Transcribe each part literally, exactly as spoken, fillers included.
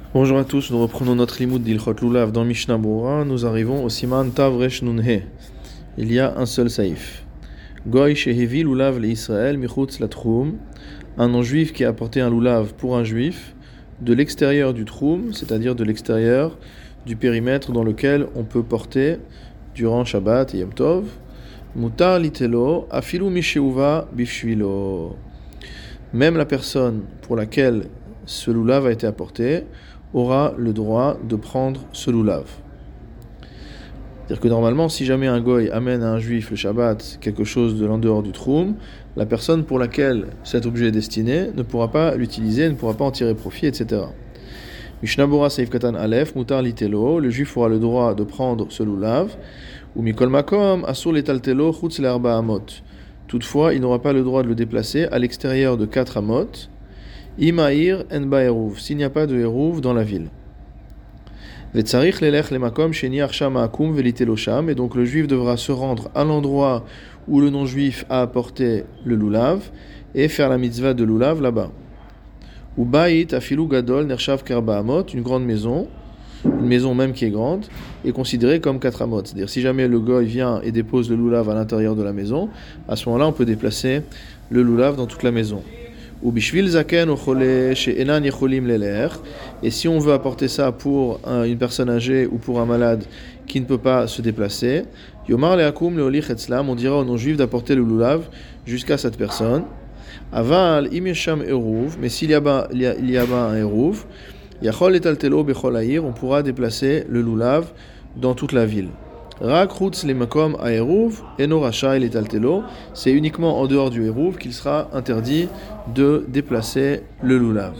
Bonjour à tous, nous reprenons notre limoud d'Ilchot Lulav dans Mishnah Berurah. Nous arrivons au Siman Tav Resh Nun He. Il y a un seul saïf. Goy shehevi lulav le Israël michutz latchum. Un non-juif qui a apporté un lulav pour un juif de l'extérieur du troum, c'est-à-dire de l'extérieur du périmètre dans lequel on peut porter durant Shabbat et Yom Tov. Mutar litelo afilu misheuva bifshvilo. Même la personne pour laquelle ce lulav a été apporté aura le droit de prendre ce lulav. C'est-à-dire que normalement, si jamais un goy amène à un juif le Shabbat quelque chose de l'en dehors du troum, la personne pour laquelle cet objet est destiné ne pourra pas l'utiliser, ne pourra pas en tirer profit, et cetera. Mishnah Berurah Seif Katan Aleph, Mutar litelo, le juif aura le droit de prendre ce lulav, ou Mikol Makom, Asur letaltelo, Chutz le'arba amot. Toutefois, il n'aura pas le droit de le déplacer à l'extérieur de quatre amot, Imaïr en ba eruv, s'il n'y a pas de eruv dans la ville. Vetzarich lelech lemakom sheni arsham ha'akum velitelo sham, et donc le juif devra se rendre à l'endroit où le non-juif a apporté le lulav et faire la mitzvah de lulav là-bas. Ou ba'it afilu gadol nershav kerba amot, une grande maison, une maison même qui est grande, est considérée comme quatre amot. C'est-à-dire si jamais le goy vient et dépose le lulav à l'intérieur de la maison, à ce moment-là on peut déplacer le lulav dans toute la maison. Ou bishvil zaken ochole she'enan yecholim leler, et si on veut apporter ça pour un, une personne âgée ou pour un malade qui ne peut pas se déplacer, yomar leakum leolich etzlam, on dira au non-juif d'apporter le lulav jusqu'à cette personne. Aval im yesham eruv, mais s'il y a bas il y a, il y a bas un eruv, yachol etaltelo bechol ha'ir, on pourra déplacer le lulav dans toute la ville. Rak chutz lemakom ha'eruv eno rashai letaltelo, c'est uniquement en dehors du eruv qu'il sera interdit de déplacer le lulav.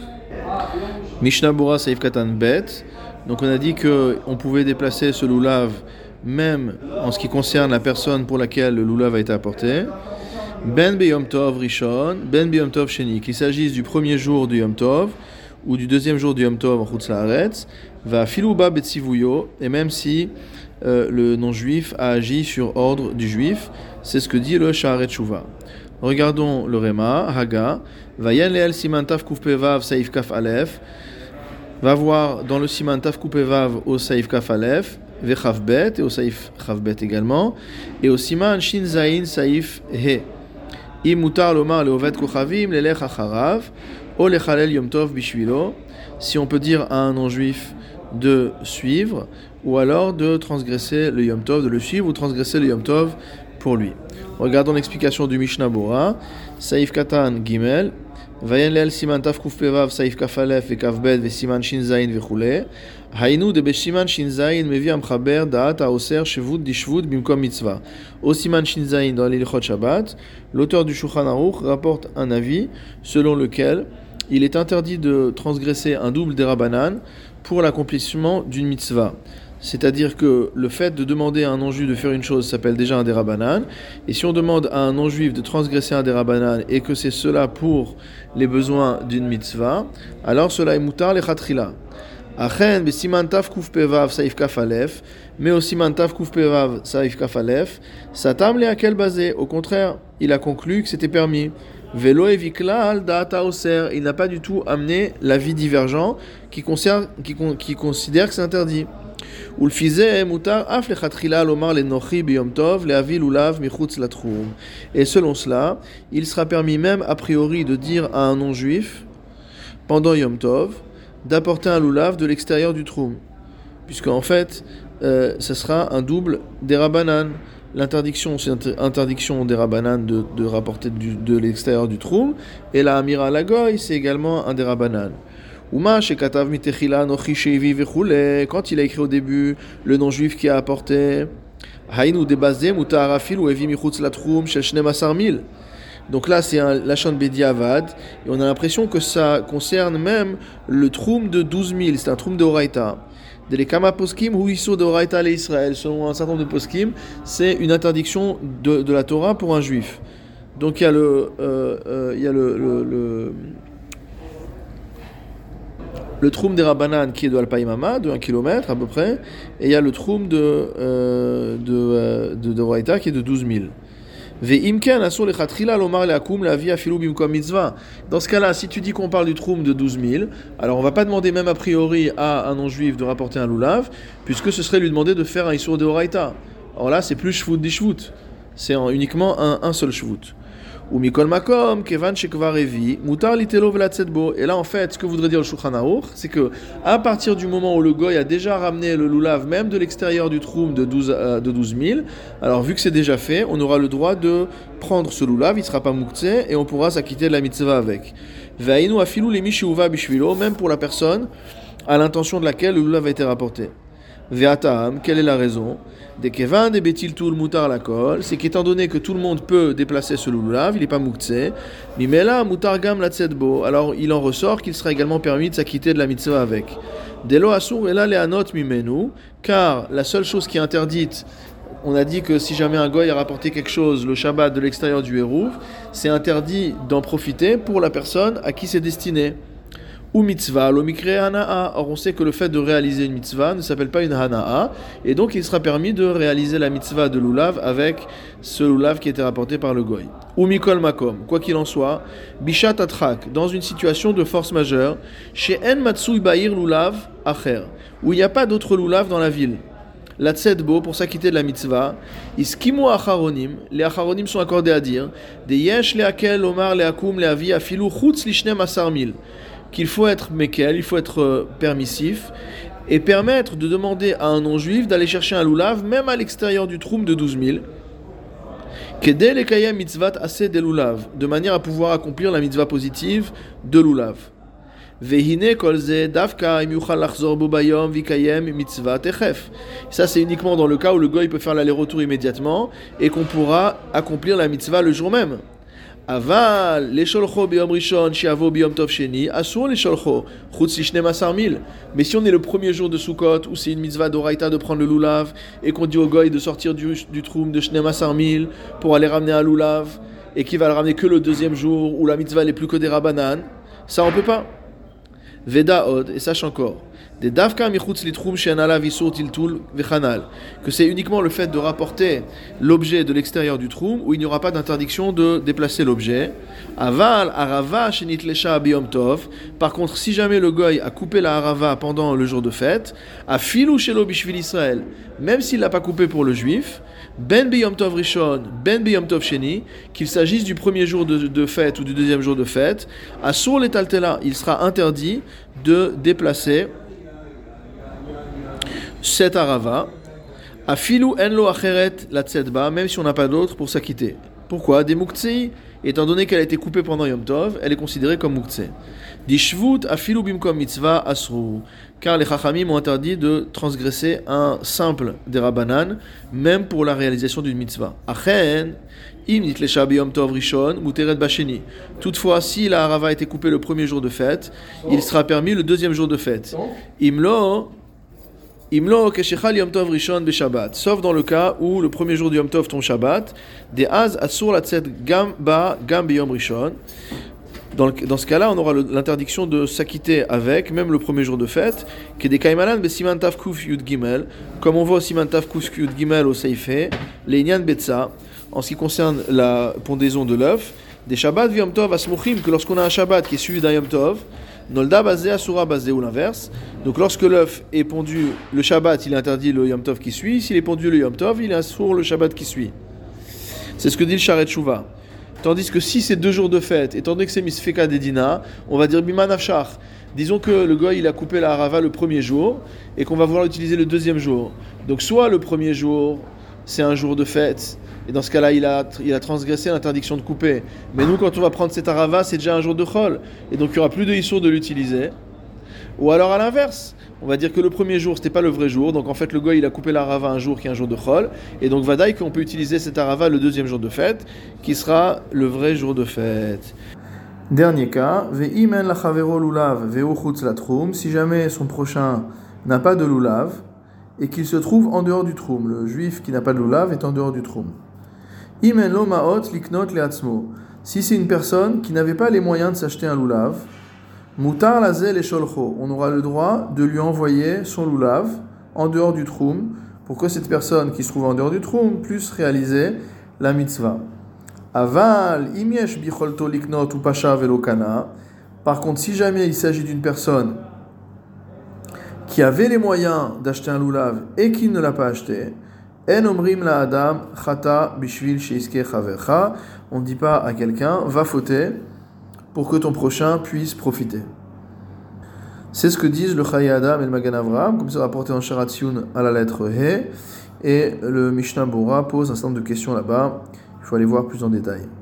Mishnah Berurah Seif Katan Bet, donc on a dit que on pouvait déplacer ce lulav même en ce qui concerne la personne pour laquelle le lulav a été apporté. Ben beyom tov rishon, ben beyom tov sheni, qu'il s'agisse du premier jour du Yom Tov ou du deuxième jour du Yom Tov en chutz la'aretz, va filuba betzivuyo, et même si Euh, le non-juif a agi sur ordre du juif, c'est ce que dit le Sha'aret Tshuva. Regardons le Réma, Haga, Vayen leel siman taf kuf pevav saif kaf alef, va voir dans le siman taf kuf pevav au saif kaf alef, vechav bet, et au saif chav bet également, et au siman shin zayin saif he. Im mutar lomar leovet kochavim lelech acharav, o lechalel yom tov bishvilo, si on peut dire à un non-juif de suivre, ou alors de transgresser le Yom Tov, de le suivre ou transgresser le Yom Tov pour lui. Regardons l'explication du Mishnah Berurah. Saif Katan Gimel, Vayen leel siman taf kuf pevav saif kaf alef ve kaf bet ve siman shin zayin vechule. Hainu de beshiman shin zayin mevi amchaber da'at haoser shevut dishvut bimkom mitzvah. Au siman shin zayin dans l'Ilchot Shabbat, l'auteur du Shulchan Aruch rapporte un avis selon lequel il est interdit de transgresser un double derabanan pour l'accomplissement d'une mitzvah. C'est-à-dire que le fait de demander à un non-juif de faire une chose s'appelle déjà un derabanan, et si on demande à un non-juif de transgresser un derabanan et que c'est cela pour les besoins d'une mitzvah, alors cela est mutar lechatrila. Achen be siman taf kuf pevav saif kaf alef, mais au siman taf kuf pevav saif kaf alef, satam le akel basé. Au contraire, il a conclu que c'était permis. Velo eviklal da'ata oser, il n'a pas du tout amené l'avis divergent qui, concerne, qui, qui considère que c'est interdit. Et selon cela, il sera permis même a priori de dire à un non-juif pendant Yom Tov d'apporter un lulav de l'extérieur du troum, puisque en fait, euh, ce sera un double derabanan. L'interdiction, c'est interdiction derabanan de, de rapporter du, de l'extérieur du troum, et la amira lagoy, c'est également un derabanan. Uma shekatav mitechila nochi sheivi vechule, quand il a écrit au début le non-juif qui a apporté hainu debazem mutar afil ou evi michutz latrum shel shneim asar mil. Donc là c'est un lachon bediavad, et on a l'impression que ça concerne même le troum de douze mille, c'est un troum de oraita. Des kama poskim ou iso de oraita le Israël, selon un certain nombre de poskim, c'est une interdiction de, de la Torah pour un juif. Donc il y a le euh, euh, il y a le, le, le le troum des Rabbanan qui est de Alpaïmama, de un kilomètre à peu près, et il y a le troum de, euh, de, euh, de, de Raïta qui est de douze mille. Ve'imken asur lechatchila lomar leakum leavi afilu bimkom mitzvah. Dans ce cas-là, si tu dis qu'on parle du troum de douze mille, alors on va pas demander même a priori à un non-juif de rapporter un lulav, puisque ce serait lui demander de faire un isur de oraita. Alors là, c'est plus shvut di shvut. C'est uniquement un, un seul shvut. Ou mikol makom kevan shekvar evi mutar litelo velatzet bo. Et là, en fait, ce que voudrait dire le Shulchan Aruch, c'est que à partir du moment où le goy a déjà ramené le lulav, même de l'extérieur du troum de douze, euh, de douze mille, alors vu que c'est déjà fait, on aura le droit de prendre ce lulav, il ne sera pas mouktsé, et on pourra s'acquitter de la mitzvah avec. Ve'ainu afilu lemi sheuva bishvilo, même pour la personne à l'intention de laquelle le lulav a été rapporté. Ve'atam, quelle est la raison? Des kevan des betil tout le mutar la kol, c'est qu'étant donné que tout le monde peut déplacer ce lulav, il n'est pas mouktsé, mimela mutar gam la tzedbo, alors il en ressort qu'il sera également permis de s'acquitter de la mitzvah avec. Delo asur ela leanot mimenu, car la seule chose qui est interdite, on a dit que si jamais un goy a rapporté quelque chose le Shabbat de l'extérieur du Hérouv, c'est interdit d'en profiter pour la personne à qui c'est destiné. Ou mitzvah, lo mikre hana'a. Or on sait que le fait de réaliser une mitzvah ne s'appelle pas une hana'a, et donc il sera permis de réaliser la mitzvah de lulav avec ce lulav qui était rapporté par le goy. Ou mikol makom, quoi qu'il en soit, bishat atrak, dans une situation de force majeure, chez en matsui ba'ir lulav acher, où il n'y a pas d'autre lulav dans la ville. La tzedbo, pour s'acquitter de la mitzvah, iskimu acharonim, les acharonim sont accordés à dire, de yesh leakel omar leakum leavi afilu chutz lishne masar mil, qu'il faut être mekel, il faut être euh, permissif, et permettre de demander à un non-juif d'aller chercher un lulav, même à l'extérieur du troum de douze mille, kedel ekayem mitzvat aseh de lulav, de manière à pouvoir accomplir la mitzvah positive de lulav. Vehine kolze davka im yuchal lachzor bo bayom vikayem mitzvah techef. Ça c'est uniquement dans le cas où le goy peut faire l'aller-retour immédiatement et qu'on pourra accomplir la mitzvah le jour même. Aval lesholcho biyom rishon shiavo biyom tov sheni asur lesholcho chutz lishne masar mil. Mais si on est le premier jour de Sukkot où c'est une mitzvah d'oraita de prendre le lulav et qu'on dit au goy de sortir du, du troum de shne masar mil pour aller ramener un lulav et qu'il va le ramener que le deuxième jour où la mitzvah n'est plus que des rabanan, ça on peut pas. Veda od, et sache encore, des davka michutz litrum shenala visur tiltul vechanal, que c'est uniquement le fait de rapporter l'objet de l'extérieur du troum où il n'y aura pas d'interdiction de déplacer l'objet. Aval arava shenitlesha biyom tov. Par contre, si jamais le goy a coupé la harava pendant le jour de fête, afilu shelo bishvil Israël, même s'il l'a pas coupé pour le juif, ben biyom tov rishon, ben biyom tov sheni, qu'il s'agisse du premier jour de, de fête ou du deuxième jour de fête, asur letaltela, il sera interdit de déplacer cette arava, afilu enlo acheret la tzedba, même si on n'a pas d'autre pour s'acquitter. Pourquoi? Des muktzei, étant donné qu'elle a été coupée pendant Yom Tov, elle est considérée comme muktzei. Di shvut afilu bimkom mitzvah asru, car les chachamim ont interdit de transgresser un simple des rabbanan, même pour la réalisation d'une mitzvah. Achen, im nitlesha biyom tov rishon muteret basheni. Toutefois, si la harava a été coupée le premier jour de fête, il sera permis le deuxième jour de fête. Imlo Imlo keshechal Yom Tov rishon beshabbat, sauf dans le cas où le premier jour du Yom Tov tombe Shabbat, de az asur la tzed gam ba gam biyom rishon. Dans, le, dans ce cas-là, on aura le, l'interdiction de s'acquitter avec, même le premier jour de fête, que des kaimalan be siman tav kuf yud gimel, comme on voit au siman tav kuf yud gimel au seifé, les inyan betza, en ce qui concerne la pondaison de l'œuf, des Shabbat Yom Tov asmuchim, que lorsqu'on a un Shabbat qui est suivi d'un Yom Tov, Nolda basé asura basé ou l'inverse. Donc lorsque l'œuf est pondu le Shabbat, il est interdit le Yom Tov qui suit. S'il est pondu le Yom Tov, il est assour le Shabbat qui suit. C'est ce que dit le Sharet Shuvah. Tandis que si c'est deux jours de fête, étant donné que c'est misfeka dedina, on va dire biman afshar. Disons que le goy il a coupé la harava le premier jour et qu'on va vouloir l'utiliser le deuxième jour. Donc soit le premier jour c'est un jour de fête. Et dans ce cas-là, il a, il a transgressé l'interdiction de couper. Mais nous, quand on va prendre cette arava, c'est déjà un jour de chol. Et donc, il n'y aura plus de issour de l'utiliser. Ou alors, à l'inverse, on va dire que le premier jour, ce n'était pas le vrai jour. Donc, en fait, le goy, il a coupé l'arava un jour qui est un jour de chol. Et donc, vadaï qu'on peut utiliser cette arava le deuxième jour de fête, qui sera le vrai jour de fête. Dernier cas, ve'imen la chavero lulav ve'u chutz la troum. Si jamais son prochain n'a pas de lulav et qu'il se trouve en dehors du troum, le juif qui n'a pas de lulav est en dehors du troum. Imen lo maot liknot leatzmo. Si c'est une personne qui n'avait pas les moyens de s'acheter un lulav, mutar lazel et sholcho, on aura le droit de lui envoyer son lulav en dehors du troum pour que cette personne qui se trouve en dehors du troum puisse réaliser la mitzvah. Aval, imiesh bicholto liknot ou pasha velokana. Par contre, si jamais il s'agit d'une personne qui avait les moyens d'acheter un loulav et qui ne l'a pas acheté, en omrim la adam chata bishvil sheiske chavercha. On ne dit pas à quelqu'un va fauter pour que ton prochain puisse profiter. C'est ce que disent le Chayei Adam et le Magen Avraham, comme c'est rapporté en Sharatzion à la lettre He, et le Mishnah Bora pose un certain nombre de questions là-bas. Il faut aller voir plus en détail.